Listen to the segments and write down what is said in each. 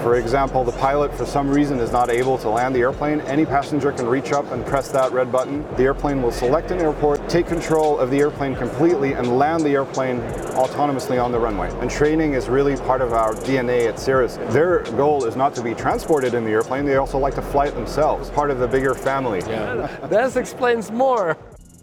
For example, the pilot for some reason is not able to land the airplane, any passenger can reach up and press that red button. The airplane will select an airport, take control of the airplane completely, and land the airplane autonomously on the runway. And training is really part of our DNA at Cirrus. Their goal is not to be transported in the airplane, they also like to fly it themselves, part of the bigger family. Yeah. That explains more.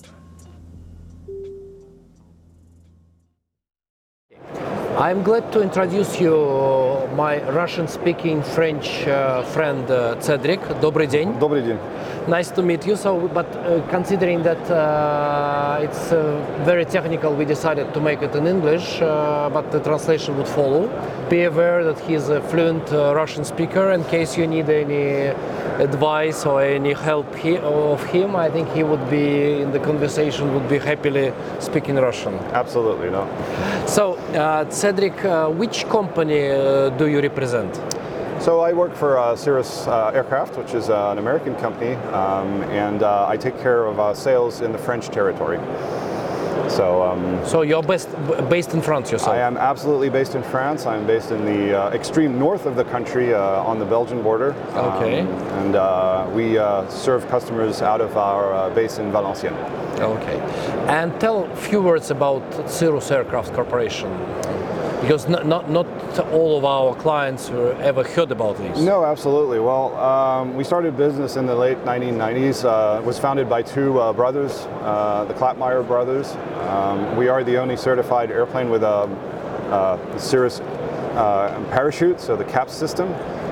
I'm glad to introduce you my Russian-speaking French friend Cedric. Добрый день. Добрый день. Nice to meet you. So, but considering that it's very technical, we decided to make it in English, but the translation would follow. Be aware that he's a fluent Russian speaker. In case you need any advice or any help of him, I think he would be in the conversation, would be happily speaking Russian. Absolutely, no. So, Cedric, which company do you represent? So I work for Cirrus Aircraft, which is an American company, and I take care of sales in the French territory. So you're based in France yourself? I am absolutely based in France. I'm based in the extreme north of the country on the Belgian border. Okay. And we serve customers out of our base in Valenciennes. Okay. And tell a few words about Cirrus Aircraft Corporation. Because not all of our clients ever heard about this. No, absolutely. Well, we started business in the late 1990s. It was founded by two brothers, the Klapmeyer brothers. We are the only certified airplane with a Cirrus parachute, so the CAPS system.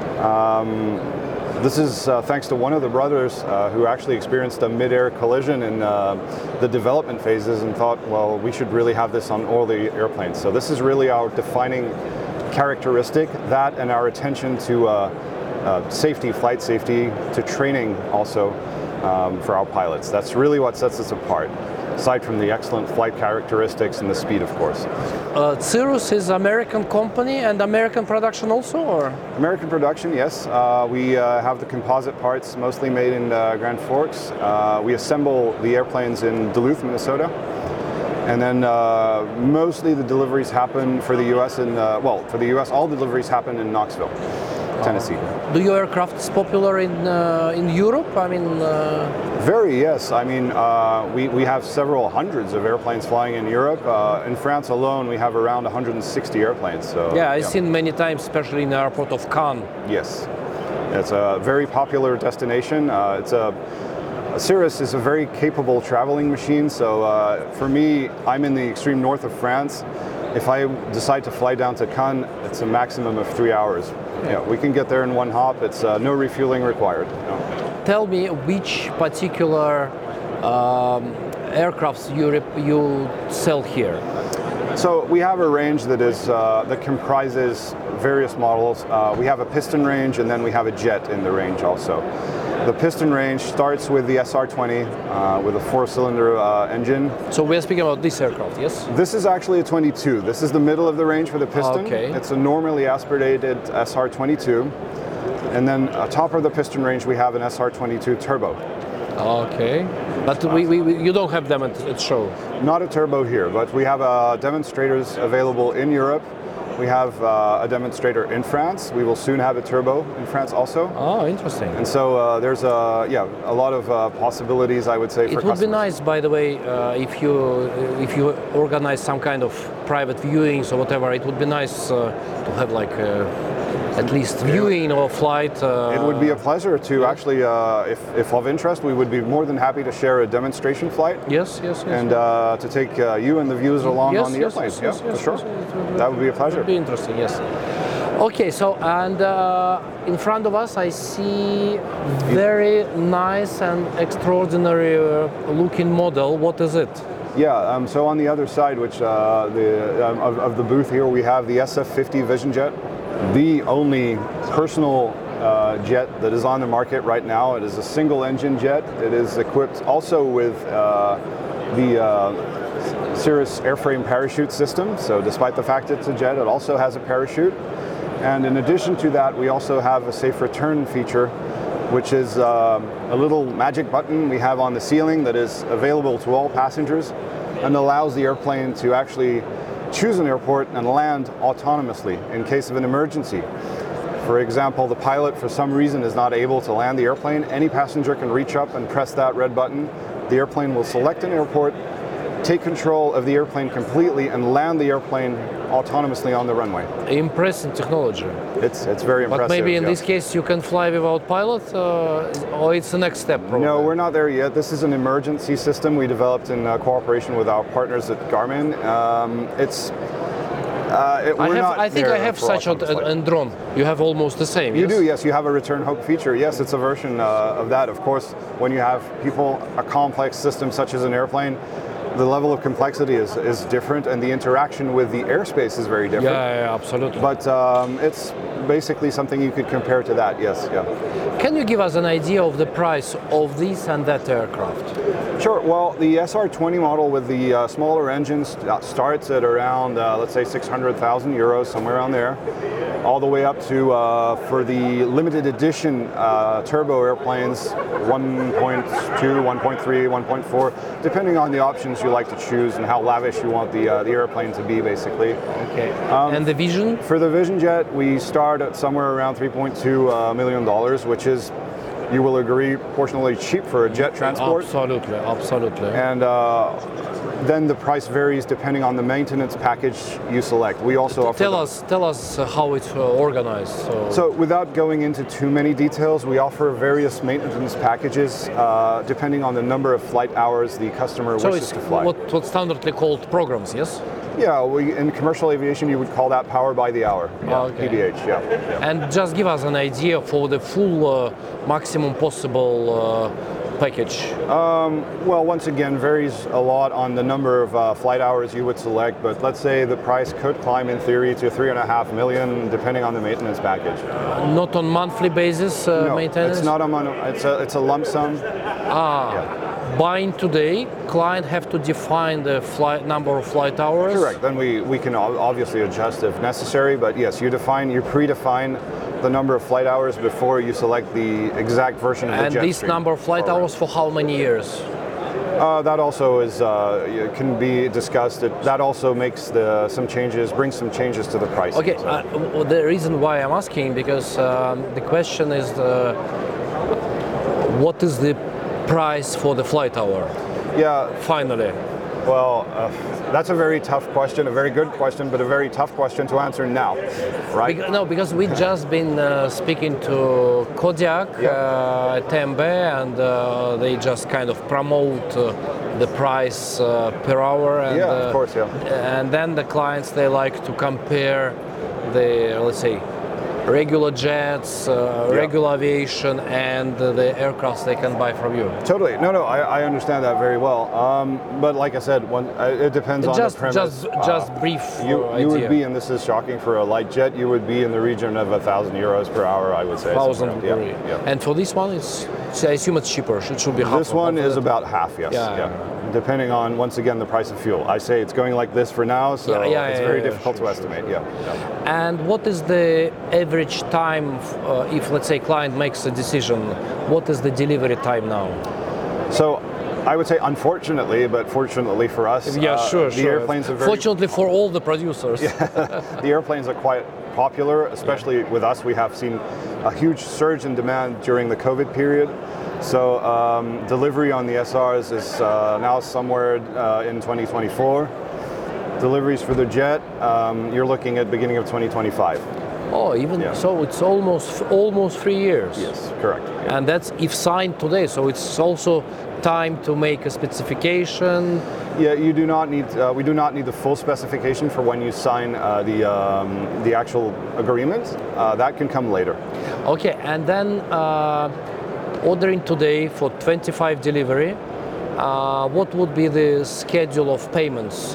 This is thanks to one of the brothers who actually experienced a mid-air collision in the development phases and thought, well, we should really have this on all the airplanes. So this is really our defining characteristic, that and our attention to safety, flight safety, to training also for our pilots. That's really what sets us apart, aside from the excellent flight characteristics and the speed, of course. Cirrus is American company and American production also, or? American production, yes. We have the composite parts mostly made in Grand Forks. We assemble the airplanes in Duluth, Minnesota. And then mostly the deliveries happen for the US well, for the US, all deliveries happen in Knoxville, Tennessee. Do your aircrafts popular in Europe? I mean, very, yes. I mean, we have several hundreds of airplanes flying in Europe. In France alone, we have around 160 airplanes. So yeah, I've seen many times, especially in the airport of Cannes. Yes, it's a very popular destination. Cirrus is a very capable traveling machine. So for me, I'm in the extreme north of France. If I decide to fly down to Cannes, it's a maximum of 3 hours. Yeah, we can get there in one hop. It's no refueling required. No. Tell me which particular aircrafts you sell here. So we have a range that comprises various models. We have a piston range, and then we have a jet in the range also. The piston range starts with the SR-20 with a 4-cylinder engine. So we're speaking about this aircraft, yes? This is actually a 22. This is the middle of the range for the piston. Okay. It's a normally aspirated SR-22. And then atop of the piston range, we have an SR-22 turbo. Okay. But you don't have them at show? Not a turbo here, but we have demonstrators available in Europe. We have a demonstrator in France. We will soon have a turbo in France also. Oh, interesting. And so there's a lot of possibilities, I would say, for customers. It would be nice, by the way, if you organize some kind of private viewings or whatever. It would be nice to have like at least viewing or flight. It would be a pleasure to actually, if of interest, we would be more than happy to share a demonstration flight. Yes. And to take you and the viewers along on the airplane. Yes, for sure. That would be a pleasure. It would be interesting, yes. Okay, so and in front of us I see very nice and extraordinary looking model. What is it? Yeah, so on the other side, which of the booth here, we have the SF-50 Vision Jet, the only personal jet that is on the market right now. It is a single engine jet. It is equipped also with the Cirrus airframe parachute system. So despite the fact it's a jet, it also has a parachute. And in addition to that, we also have a safe return feature, which is a little magic button we have on the ceiling that is available to all passengers and allows the airplane to actually choose an airport and land autonomously in case of an emergency. For example, the pilot for some reason is not able to land the airplane, any passenger can reach up and press that red button. The airplane will select an airport, take control of the airplane completely, and land the airplane autonomously on the runway. Impressive technology. It's very impressive. But maybe in yeah. this case you can fly without pilot, or it's the next step. Probably. No, we're not there yet. This is an emergency system we developed in cooperation with our partners at Garmin. I think I have such a drone. You have almost the same. You yes? do, yes. You have a return hook feature. Yes, it's a version of that. Of course, when you have a complex system such as an airplane, the level of complexity is different, and the interaction with the airspace is very different. Yeah, absolutely. But it's basically something you could compare to that. Yes, yeah. Can you give us an idea of the price of this and that aircraft? Sure. Well, the SR20 model with the smaller engines starts at around, let's say, 600,000 euros, somewhere around there, all the way up to, for the limited edition turbo airplanes, 1.2, 1.3, 1.4, depending on the options you like to choose and how lavish you want the airplane to be, basically. Okay. And the Vision? For the Vision Jet, we start at somewhere around $3.2 million, which is, you will agree, proportionally cheap for a jet transport. Absolutely, absolutely. And then the price varies depending on the maintenance package you select. We also offer. Tell us how it's organized. So without going into too many details, we offer various maintenance packages depending on the number of flight hours the customer wishes to fly. What's standardly called programs, yes? Yeah, in commercial aviation you would call that power by the hour. Yeah, okay. PBH, yeah. And just give us an idea for the full maximum possible package. Well, once again, varies a lot on the number of flight hours you would select, but let's say the price could climb in theory to 3.5 million, depending on the maintenance package. Not on monthly basis No, maintenance? it's not a it's a lump sum. Buying today, client have to define the number of flight hours? Correct. Then we can obviously adjust if necessary, but yes, you predefine the number of flight hours before you select the exact version of the jet. And this number of flight hours for how many years? That also is can be discussed. That also makes brings some changes to the price. Okay, the reason why I'm asking, because the question is what is the price for the flight hour? Yeah. Finally. Well, that's a very tough question, a very good question, but a very tough question to answer now, right? Because we just been speaking to Kodiak at TMB, and they just kind of promote the price per hour. And, of course, yeah. And then the clients, they like to compare the, let's say, regular jets, regular aviation, and the aircraft they can buy from you. Totally. No, I understand that very well. But like I said, it depends on the premise. Just brief you idea. would be, and this is shocking for a light jet, you would be in the region of 1,000 euros per hour, I would say. 1,000 yeah, per yeah. And for this one, I assume it's cheaper. It should be half. This one is about half, yes. Yeah. Depending on, once again, the price of fuel. I say it's going like this for now, so it's very difficult to estimate. Yeah. And what is the average time if, let's say, client makes a decision? What is the delivery time now? So, I would say unfortunately, but fortunately for us, the airplanes are very... Fortunately for all the producers. The airplanes are quite popular, especially with us. We have seen a huge surge in demand during the COVID period. So delivery on the SRs is now somewhere in 2024. Deliveries for the jet, you're looking at beginning of 2025. Oh, so it's almost 3 years. Yes, correct. Yeah. And that's if signed today. So it's also time to make a specification. Yeah, you do not need. We do not need the full specification for when you sign the actual agreement. That can come later. Okay, and then ordering today for 25 delivery. What would be the schedule of payments?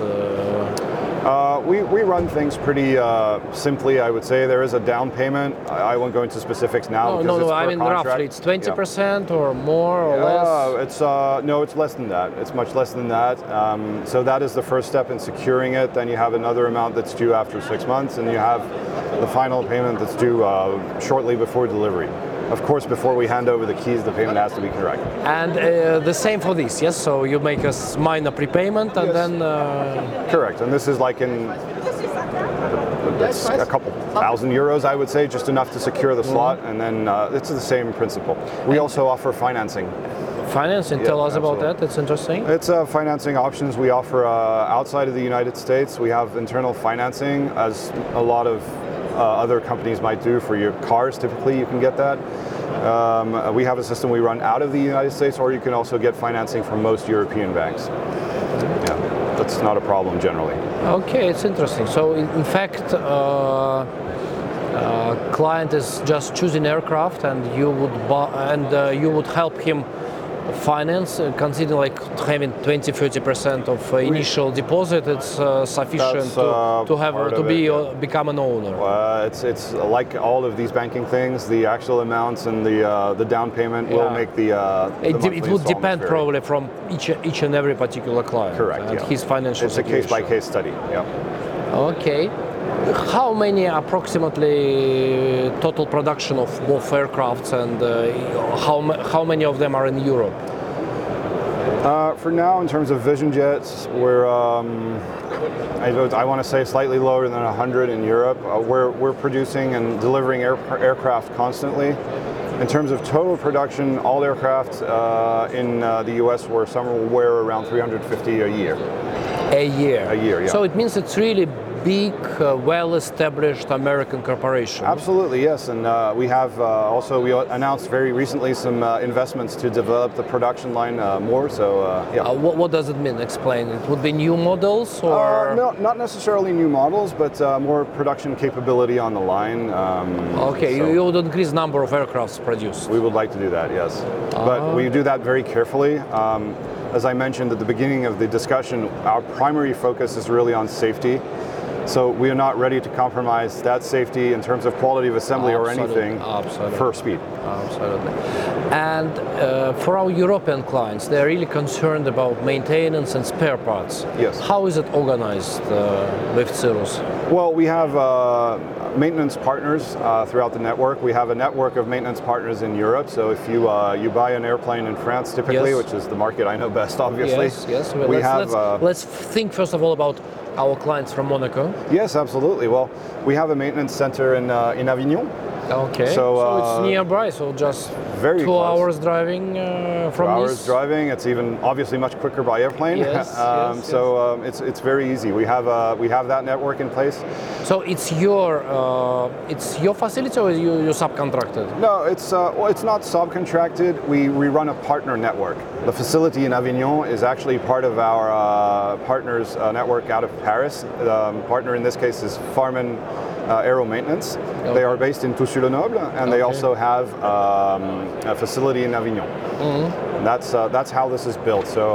We run things pretty simply, I would say. There is a down payment. I won't go into specifics now. No, I mean contract. roughly it's 20% or more or less? It's less than that. It's much less than that. So that is the first step in securing it. Then you have another amount that's due after 6 months, and you have the final payment that's due shortly before delivery. Of course, before we hand over the keys, the payment has to be correct. And the same for this, yes? So you make a minor prepayment and then... Correct, and this is like in It's a couple thousand euros, I would say, just enough to secure the slot, and then it's the same principle. We also offer financing. Financing, tell us about that, it's interesting. It's financing options we offer outside of the United States. We have internal financing, as a lot of other companies might do for your cars. Typically, you can get that. We have a system we run out of the United States, or you can also get financing from most European banks. Yeah, that's not a problem generally. Okay, it's interesting. So in fact, client is just choosing aircraft, and you would buy, and you would help him finance, considering like having 20-30% of initial deposit. It's sufficient to have to be become an owner. It's like all of these banking things. The actual amounts and the down payment will make the it would depend vary. Probably from each and every particular client. Correct. And Yeah. his financial It's situation. a case-by-case study. Yeah. Okay. How many approximately total production of both aircrafts, and how many of them are in Europe? For now, in terms of Vision Jets, we're I want to say slightly lower than 100 in Europe. We're producing and delivering aircraft constantly. In terms of total production, all aircraft in the US were somewhere around 350 a year. A year. A year, yeah. So it means it's really big, well-established American corporation. Absolutely, yes. And we have we announced very recently some investments to develop the production line more. So yeah. What does it mean? Explain. It would be new models, or no, not necessarily new models, but more production capability on the line. okay, so you would increase number of aircrafts produced. we would like to do that, yes. But we do that very carefully. As I mentioned at the beginning of the discussion, our primary focus is really on safety. So we are not ready to compromise that safety in terms of quality of assembly or anything for speed. Absolutely. And for our European clients, they're really concerned about maintenance and spare parts. Yes. How is it organized with Cirrus? Well, we have maintenance partners throughout the network. We have a network of maintenance partners in Europe. So if you buy an airplane in France, typically, Yes. which is the market I know best, obviously. Yes. Well, we let's think first of all about our clients from Monaco. Yes, absolutely. Well, we have a maintenance center in Avignon. Okay. So, it's nearby. So just very 2 close. hours driving from 2 hours Nice. driving. It's even obviously much quicker by airplane. Yes, So it's very easy. We have that network in place. So it's your facility, or you subcontracted? No, it's not subcontracted. We run a partner network. The facility in Avignon is actually part of our partners network out of Paris. The partner in this case is Farman Aero Maintenance. Okay. They are based in Toussus-le-Noble, and they also have a facility in Avignon. And that's how this is built. So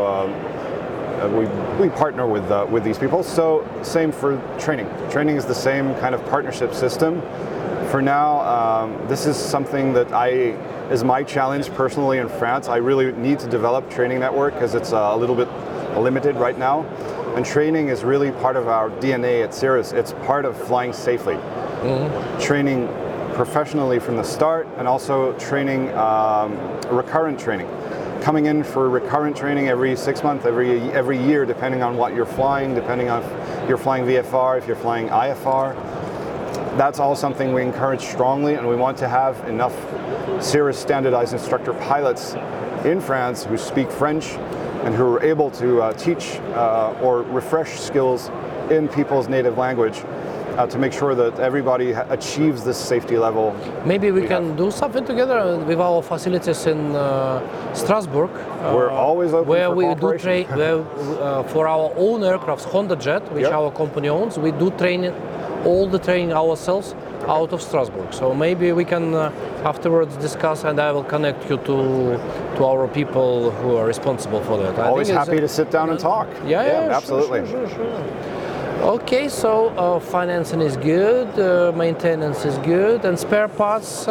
we partner with these people. So same for training. Training is the same kind of partnership system. For now, this is something that is my challenge personally in France. I really need to develop training network because it's a little bit limited right now. And training is really part of our DNA at Cirrus. It's part of flying safely. Training professionally from the start, and also training, recurrent training. Coming in for recurrent training every 6 months, every year, depending on what you're flying, depending on if you're flying VFR, if you're flying IFR. That's all something we encourage strongly, and we want to have enough Cirrus standardized instructor pilots in France who speak French and who are able to teach or refresh skills in people's native language to make sure that everybody achieves this safety level. Maybe we can do something together with our facilities in Strasbourg. We're always open where for we do cooperation. for our own aircrafts, Honda Jet, which Yep. our company owns. We do all the training ourselves out of Strasbourg. So maybe we can afterwards discuss, and I will connect you to our people who are responsible for that. Always happy to sit down and talk. Yeah, absolutely. Sure. Okay, so financing is good, maintenance is good, and spare parts.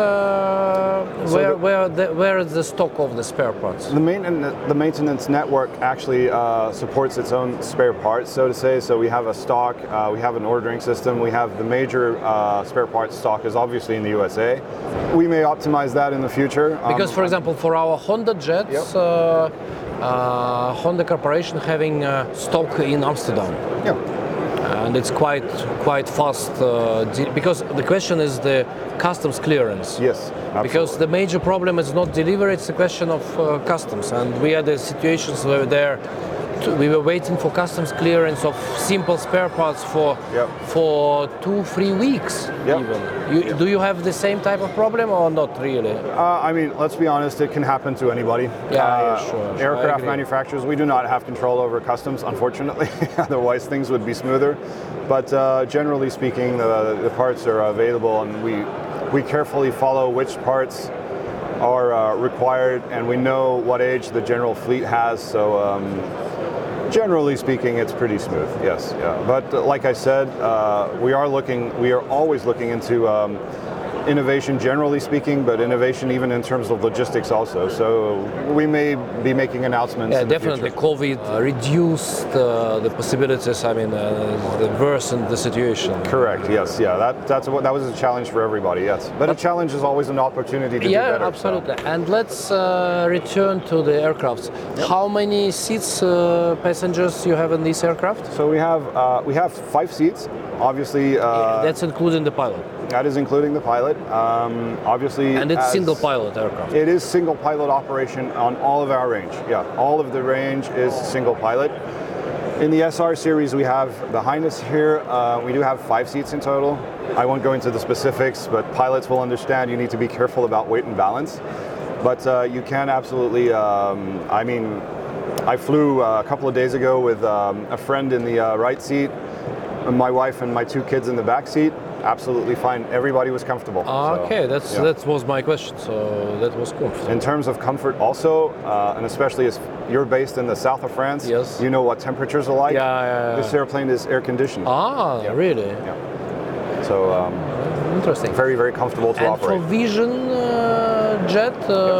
Where is the stock of the spare parts? The maintenance network actually supports its own spare parts, so to say. So we have a stock, we have an ordering system, we have the major spare parts stock is obviously in the USA. We may optimize that in the future. Because, for example, for our Honda Jets, Honda Corporation having stock in Amsterdam. Yeah. and it's quite fast because the question is the customs clearance. Yes, absolutely. Because the major problem is not delivery; it's a question of customs, and we had the situations where we were waiting for customs clearance of simple spare parts for 2-3 weeks even. Do you have the same type of problem or not really? I mean, let's be honest, it can happen to anybody. Sure. Aircraft manufacturers, we do not have control over customs, unfortunately. Otherwise things would be smoother. But generally speaking, the parts are available, and we carefully follow which parts are required, and we know what age the general fleet has. So generally speaking, it's pretty smooth. Yes, yeah. But like I said, we are always looking into innovation, generally speaking, but innovation even in terms of logistics also. So we may be making announcements. Yeah, in the definitely. future. COVID reduced the possibilities. I mean, worsened the situation. Correct. Yes. Yeah. That was a challenge for everybody. Yes. But a challenge is always an opportunity to do better. Yeah, absolutely. And let's return to the aircrafts. How many seats, passengers you have in this aircraft? So we have 5 seats. Obviously. That's including the pilot. That is including the pilot. Obviously. And it's single pilot aircraft. It is single pilot operation on all of our range. Yeah, all of the range is single pilot. In the SR series, we have behind us here, we do have 5 seats in total. I won't go into the specifics, but pilots will understand you need to be careful about weight and balance. But you can absolutely, I mean, I flew a couple of days ago with a friend in the right seat, my wife and my 2 kids in the back seat. Absolutely fine. Everybody was comfortable. Okay, that was my question. So that was cool. In terms of comfort, also, and especially as you're based in the south of France, yes, you know what temperatures are like. Yeah. This airplane is air conditioned. Really? Yeah. So interesting. Very, very comfortable to operate. And for Vision Jet,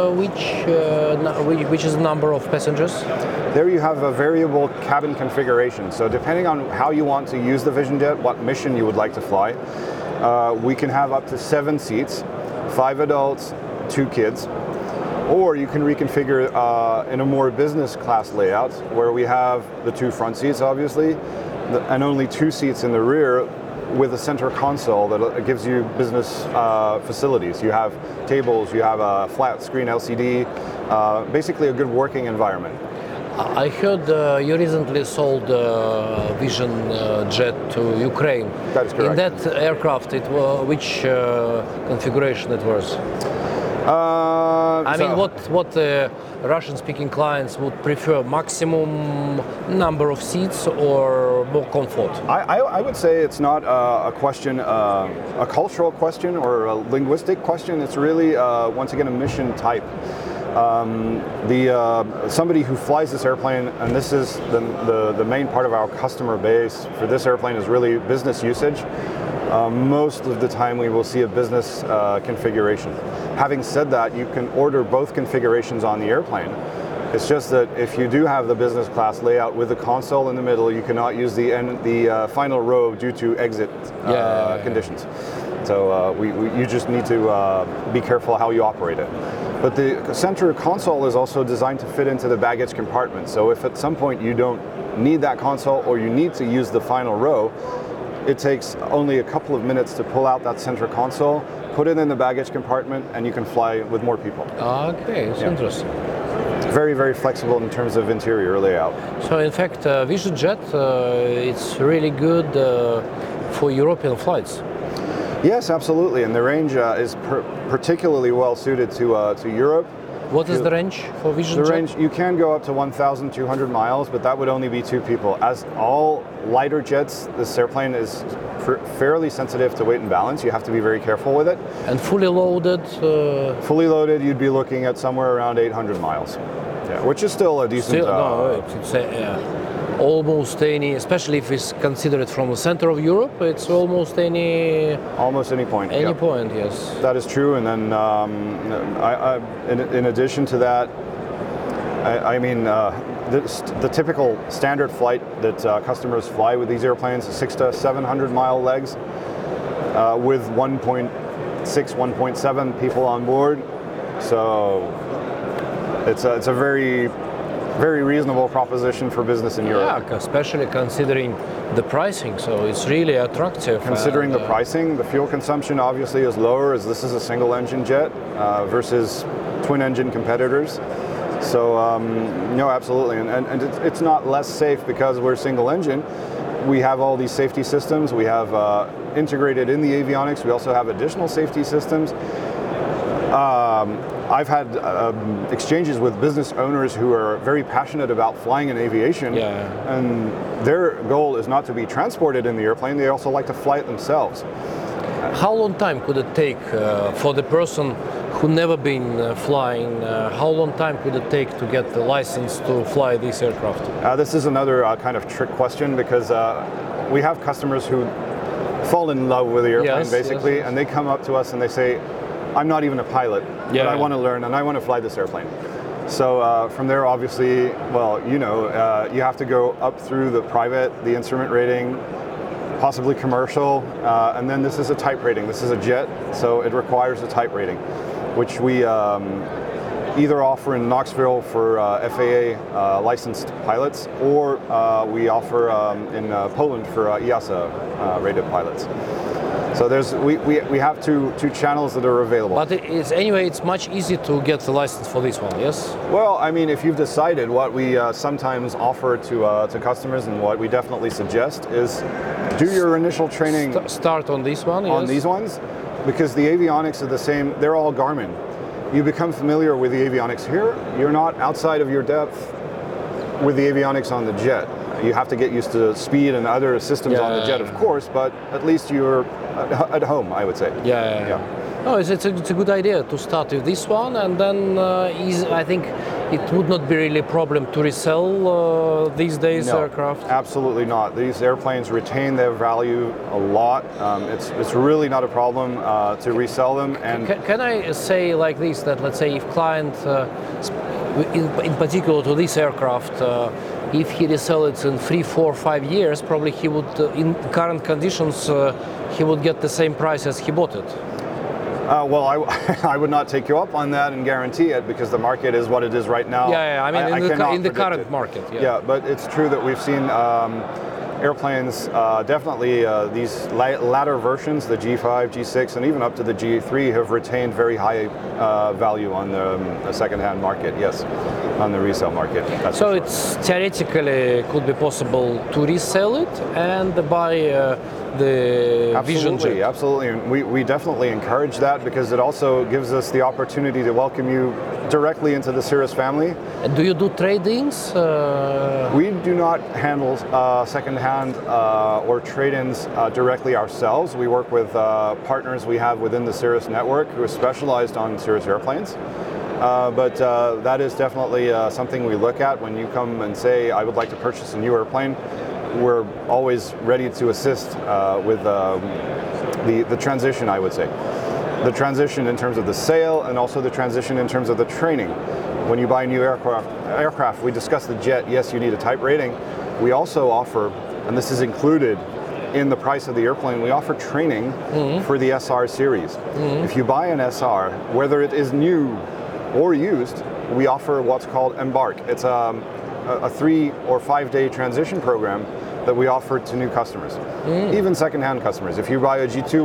which is the number of passengers? There you have a variable cabin configuration. So depending on how you want to use the Vision Jet, what mission you would like to fly, we can have up to 7 seats, 5 adults, 2 kids. Or you can reconfigure in a more business class layout where we have the 2 front seats, obviously, and only 2 seats in the rear with a center console that gives you business facilities. You have tables, you have a flat screen LCD, basically a good working environment. I heard you recently sold Vision Jet to Ukraine. That is correct. In that aircraft, which configuration it was? I mean, what Russian-speaking clients would prefer? Maximum number of seats or more comfort? I would say it's not a question, a cultural question or a linguistic question. It's really, once again, a mission type. Somebody who flies this airplane, and this is the main part of our customer base for this airplane, is really business usage. Most of the time we will see a business configuration. Having said that, you can order both configurations on the airplane. It's just that if you do have the business class layout with the console in the middle, you cannot use the final row due to exit conditions. So you just need to be careful how you operate it. But the center console is also designed to fit into the baggage compartment. So if at some point you don't need that console or you need to use the final row, it takes only a couple of minutes to pull out that center console, put it in the baggage compartment, and you can fly with more people. Okay, it's interesting. Very, very flexible in terms of interior layout. So in fact, Vision Jet, it's really good for European flights. Yes, absolutely, and the range is particularly well suited to Europe. What is the range for Vision Jet? The range, you can go up to 1,200 miles, but that would only be 2 people. As all lighter jets, this airplane is fairly sensitive to weight and balance. You have to be very careful with it. And fully loaded? Fully loaded, you'd be looking at somewhere around 800 miles, which is still a decent... almost any, especially if it's considered from the center of Europe, it's almost any... Almost any point. Any point, yes. That is true, and then in addition to that, I mean, the typical standard flight that customers fly with these airplanes is 600 to 700 mile legs with 1.6, 1.7 people on board. So it's a very very reasonable proposition for business in Europe. Yeah, especially considering the pricing, so it's really attractive. Considering and, the pricing, the fuel consumption obviously is lower as this is a single engine jet versus twin engine competitors. So no, absolutely, and it's not less safe because we're single engine. We have all these safety systems. We have integrated in the avionics. We also have additional safety systems. I've had exchanges with business owners who are very passionate about flying in aviation, and their goal is not to be transported in the airplane. They also like to fly it themselves. How long time could it take for the person who never been flying? How long time could it take to get the license to fly this aircraft? This is another kind of trick question because we have customers who fall in love with the airplane basically, and they come up to us and they say, I'm not even a pilot, but I want to learn and I want to fly this airplane. So from there, obviously, well, you know, you have to go up through the private, the instrument rating, possibly commercial, and then this is a type rating. This is a jet, so it requires a type rating, which we either offer in Knoxville for FAA licensed pilots, or we offer in Poland for EASA rated pilots. So we have two channels that are available. But it's much easier to get the license for this one, yes? Well, I mean, if you've decided, what we sometimes offer to customers and what we definitely suggest is do your initial training. Start on this one, on these ones, because the avionics are the same. They're all Garmin. You become familiar with the avionics here. You're not outside of your depth with the avionics on the jet. You have to get used to speed and other systems on the jet, of course, but at least you're at home, I would say. No, it's a good idea to start with this one, and then I think it would not be really a problem to resell these days aircraft. Absolutely not. These airplanes retain their value a lot. It's really not a problem to resell them. And can I say like this, that let's say if client, in particular to this aircraft, if he resell it in 3, 4, 5 years, probably he would, in current conditions, he would get the same price as he bought it. Well, I would not take you up on that and guarantee it because the market is what it is right now. I mean, in the current market. Yeah, but it's true that we've seen airplanes, definitely these latter versions, the G5, G6, and even up to the G3 have retained very high value on the second-hand market, yes, on the resale market. So it's theoretically could be possible to resell it and buy the Vision Jet. Absolutely. And we definitely encourage that because it also gives us the opportunity to welcome you directly into the Cirrus family. And do you do trade-ins? We do not handle second-hand or trade-ins directly ourselves. We work with partners we have within the Cirrus network who are specialized on Cirrus airplanes. But that is definitely something we look at when you come and say, I would like to purchase a new airplane. We're always ready to assist with the transition, I would say. The transition in terms of the sale and also the transition in terms of the training. When you buy a new aircraft, we discuss the jet, yes, you need a type rating. We also offer, and this is included in the price of the airplane, we offer training for the SR series. If you buy an SR, whether it is new or used, we offer what's called Embark. It's a 3 or 5 day transition program that we offer to new customers, even second-hand customers. If you buy a G2,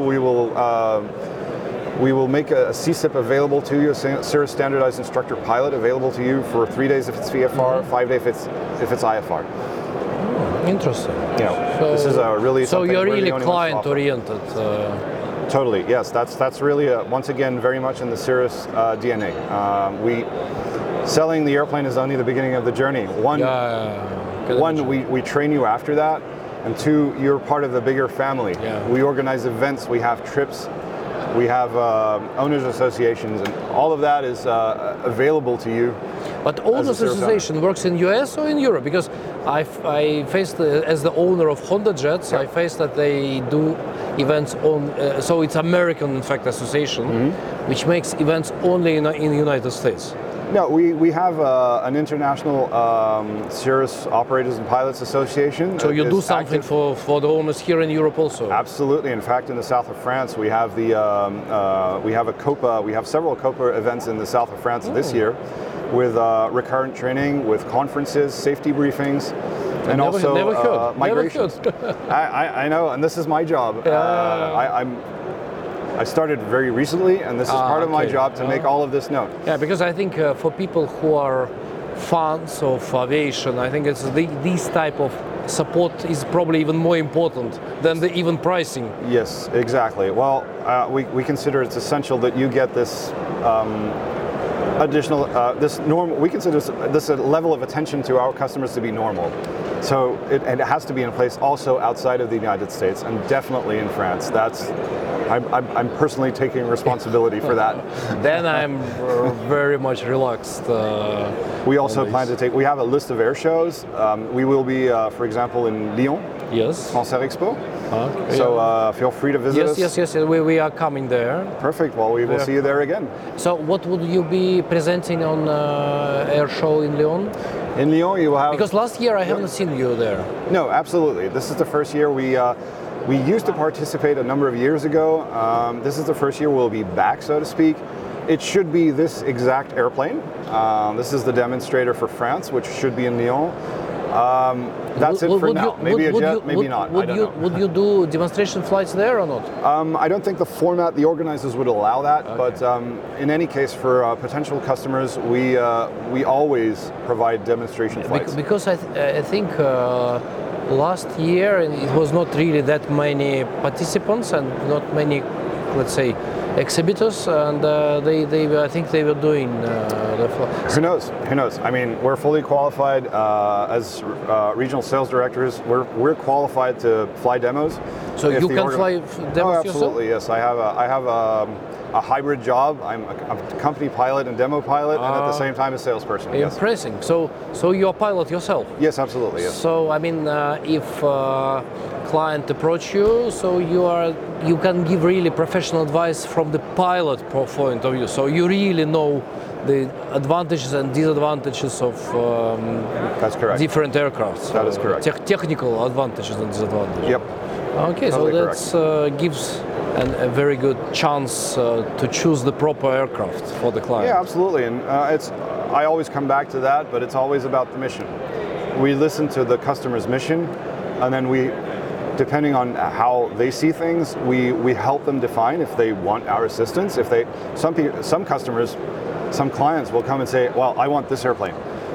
we will make a CSIP available to you, a Cirrus Standardized Instructor Pilot available to you for 3 days if it's VFR, 5 days if it's IFR. Interesting. Yeah, so this is a really so you're really client-oriented. Totally, yes. That's really once again very much in the Cirrus DNA. Selling the airplane is only the beginning of the journey. One, we train you after that, and two, you're part of the bigger family. We organize events, we have trips, we have owners associations, and all of that is available to you. But owners association works in US or in Europe? Because I faced, as the owner of Honda Jets, I faced that they do events on, so it's American, in fact, association, which makes events only in the United States. No, we have an international Cirrus Operators and Pilots Association. So you that do is something active. for the owners here in Europe also? Absolutely. In fact, in the south of France, we have we have a Copa. We have several Copa events in the south of France this year, with recurrent training, with conferences, safety briefings, and also never heard. migrations. Never heard. I know, and this is my job. I started very recently, and this is part of my okay. job to make all of this known. Yeah, because I think for people who are fans of aviation, I think it's this type of support is probably even more important than the even pricing. Yes, exactly. Well, we consider it's essential that you get this additional, this normal. We consider this a level of attention to our customers to be normal. So and it has to be in place also outside of the United States, and definitely in France. I'm personally taking responsibility for that. Then I'm very much relaxed. We also plan to we have a list of air shows. We will be, for example, in Lyon, Yes. Sancerre Expo. Okay. So feel free to visit us. Yes. We are coming there. Perfect. Well, we will see you there again. So what would you be presenting on air show in Lyon? In Lyon, you will have. Because last year I haven't seen you there. No, absolutely. This is the first year we used to participate a number of years ago. This is the first year we'll be back, so to speak. It should be this exact airplane. This is the demonstrator for France, which should be in Lyon. That's it for now. Maybe a jet, maybe not. I don't know. Would you do demonstration flights there or not? I don't think the format, the organizers would allow that, but in any case, for potential customers, we always provide demonstration flights. Because I think last year it was not really that many participants and not many, let's say, exhibitors, and I think they were doing the flights. Who knows? Who knows? I mean, we're fully qualified as regional sales directors. We're qualified to fly demos. So you can fly demos yourself? Absolutely, yes. I have a hybrid job. I'm a company pilot and demo pilot, and at the same time a salesperson. Yes. Impressive. So you're a pilot yourself? Yes, absolutely. Yes. So I mean, if client approach you, so you can give really professional advice from the pilot point of view. So you really know the advantages and disadvantages of That's correct. different aircrafts. That is correct. Technical advantages and disadvantages. Yep. Okay, Totally so that gives a very good chance to choose the proper aircraft for the client. Yeah, absolutely. And I always come back to that, but it's always about the mission. We listen to the customer's mission, and then depending on how they see things, we help them define if they want our assistance. If some customers, some clients will come and say, "Well, I want this airplane."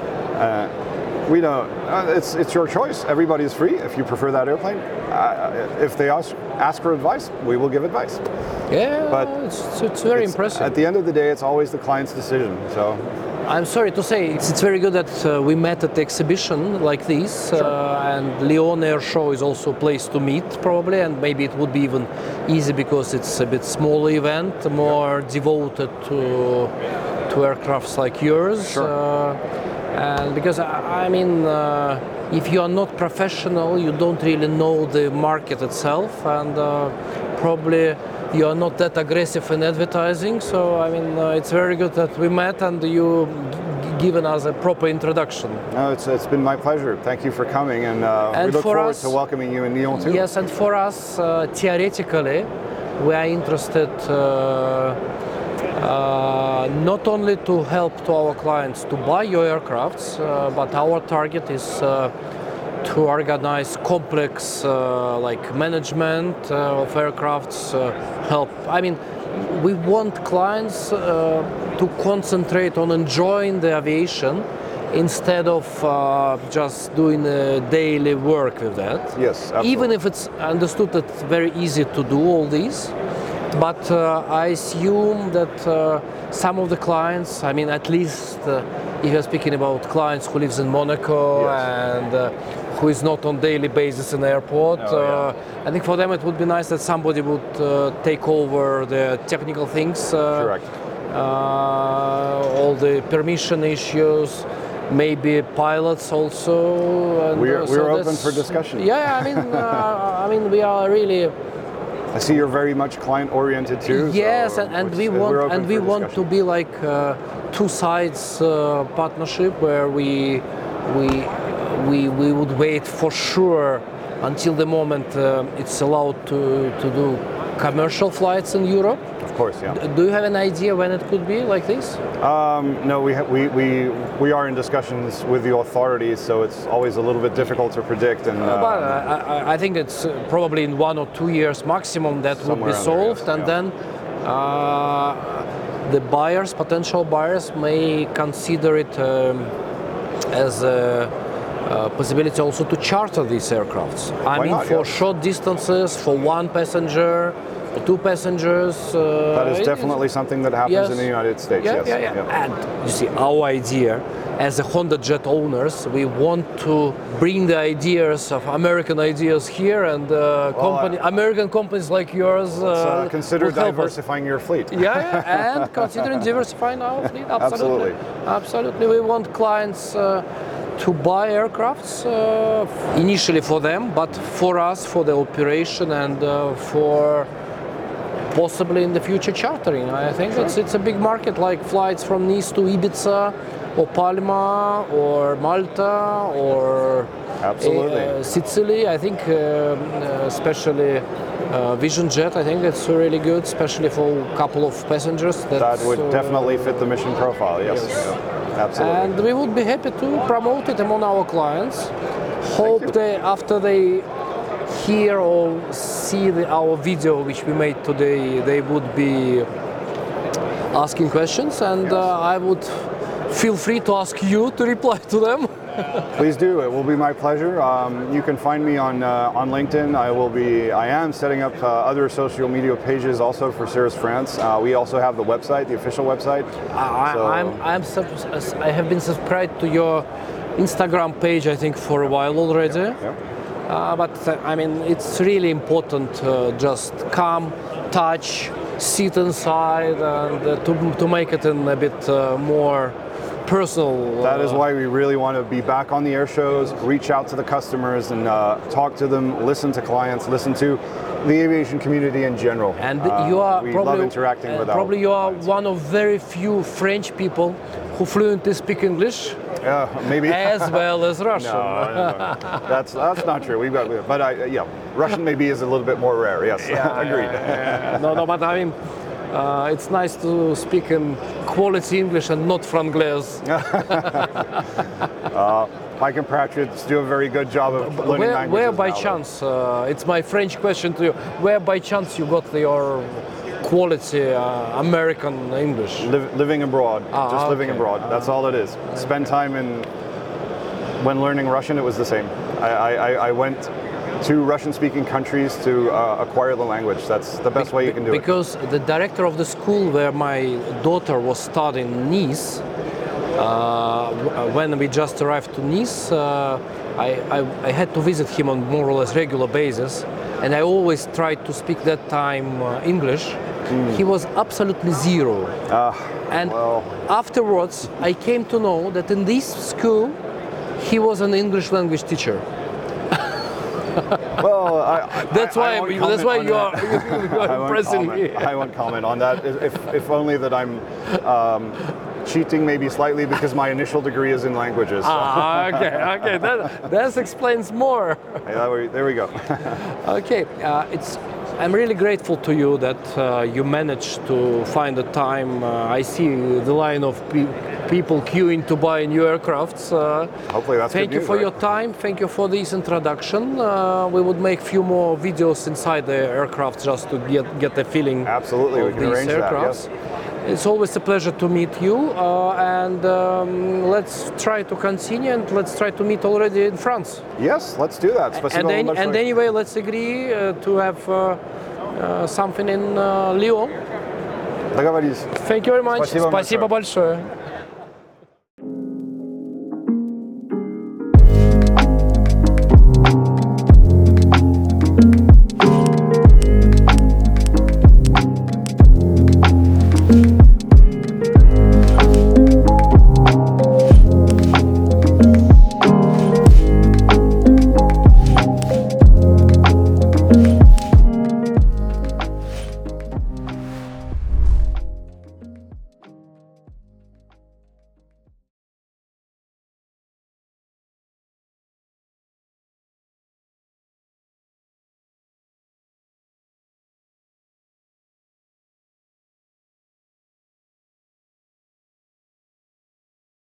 We don't. It's your choice. Everybody is free. If you prefer that airplane, if they ask for advice, we will give advice. Yeah, But it's very impressive. At the end of the day, it's always the client's decision. So. I'm sorry to say, it's very good that we met at the exhibition like this, and Lyon Air Show is also a place to meet probably, and maybe it would be even easy because it's a bit smaller event, more devoted to aircrafts like yours. Sure. And because I mean, if you are not professional, you don't really know the market itself, and probably you are not that aggressive in advertising. So I mean, it's very good that we met and you given us a proper introduction. No, it's been my pleasure. Thank you for coming, and we look forward to welcoming you in Lyon too. Yes, and for us, theoretically, we are interested not only to help to our clients to buy your aircrafts, but our target is to organize complex like management of aircrafts, help. I mean, we want clients to concentrate on enjoying the aviation instead of just doing daily work with that. Yes, absolutely. Even if it's understood that it's very easy to do all these. But I assume that some of the clients, I mean, at least if you're speaking about clients who lives in Monaco and who is not on daily basis in the airport, I think for them it would be nice that somebody would take over the technical things. Correct. All the permission issues, maybe pilots also. And, we're open for discussion. Yeah, I mean, we are really I see you're very much client-oriented too. Yes, so, and which we is- we're want open for to discussion. be like two sides partnership where we would wait for sure until the moment it's allowed to do commercial flights in Europe. Of course, yeah. Do you have an idea when it could be like this? No, we are in discussions with the authorities, so it's always a little bit difficult to predict. And But I think it's probably in 1 or 2 years maximum that would be Somewhere under, solved, yes, and yeah. then the buyers, potential buyers, may consider it as a possibility also to charter these aircrafts. I Why mean, not? for Yeah. short distances, for one passenger, for two passengers. that is it definitely something that happens in the United States. Yeah, yes. yeah. And you see, our idea as a Honda Jet owners, we want to bring the ideas of American ideas here, and American companies like yours Consider will help us. diversifying your fleet. Yeah, and considering diversifying our fleet, absolutely. Absolutely. Absolutely. We want clients to buy aircrafts initially for them, but for us, for the operation and for possibly in the future chartering. I think it's a big market, like flights from Nice to Ibiza or Palma or Malta or Absolutely. Sicily. I think especially Vision Jet, I think it's really good, especially for a couple of passengers. That would definitely fit the mission profile. Yes. Yeah, absolutely. And we would be happy to promote it among our clients. Hope they, after they hear or see our video which we made today, they would be asking questions, and I would feel free to ask you to reply to them. Please do. It will be my pleasure. You can find me on LinkedIn. I am setting up other social media pages also for Cirrus France. We also have the website, the official website. I have been subscribed to your Instagram page, I think, for a while already. Yeah. But I mean, it's really important just come, touch, sit inside, and to make it in a bit more personal. That is why we really want to be back on the air shows, reach out to the customers and talk to them, listen to clients, listen to the aviation community in general. And you are we probably love interacting with probably you are clients. one of very few French people who fluently speak English Maybe as well as Russian. No. That's not true. But Russian maybe is a little bit more rare. Yes, agreed. No, but I mean, it's nice to speak in quality English and not Franglais. My compatriots do a very good job of learning languages. Where by now, chance, it's my French question to you, where by chance you got your quality American English? living abroad, just living okay. abroad. That's all it is. Spend time when learning Russian, it was the same. I went to Russian-speaking countries to acquire the language. That's the best way you can do it. Because the director of the school where my daughter was studying, Nice, when we just arrived to Nice, I had to visit him on more or less regular basis, and I always tried to speak that time English. He was absolutely zero. And afterwards, I came to know that in this school, he was an English language teacher. Well, That's why you are impressing me. I won't comment on that. If only that I'm cheating maybe slightly because my initial degree is in languages. Okay. That explains more. There we go. Okay, I'm really grateful to you that you managed to find the time. I see the line of people queuing to buy new aircrafts. Hopefully that's Thank good you news, for right? your time. Thank you for this introduction. We would make few more videos inside the aircraft just to get a feeling Absolutely, we of can these arrange that, aircrafts. yes. It's always a pleasure to meet you, and let's try to continue, and let's try to meet already in France. Yes, let's do that. Спасибо вам And большое. anyway, let's agree to have something in Lyon. Договорились. Thank you very much. Спасибо Спасибо большое.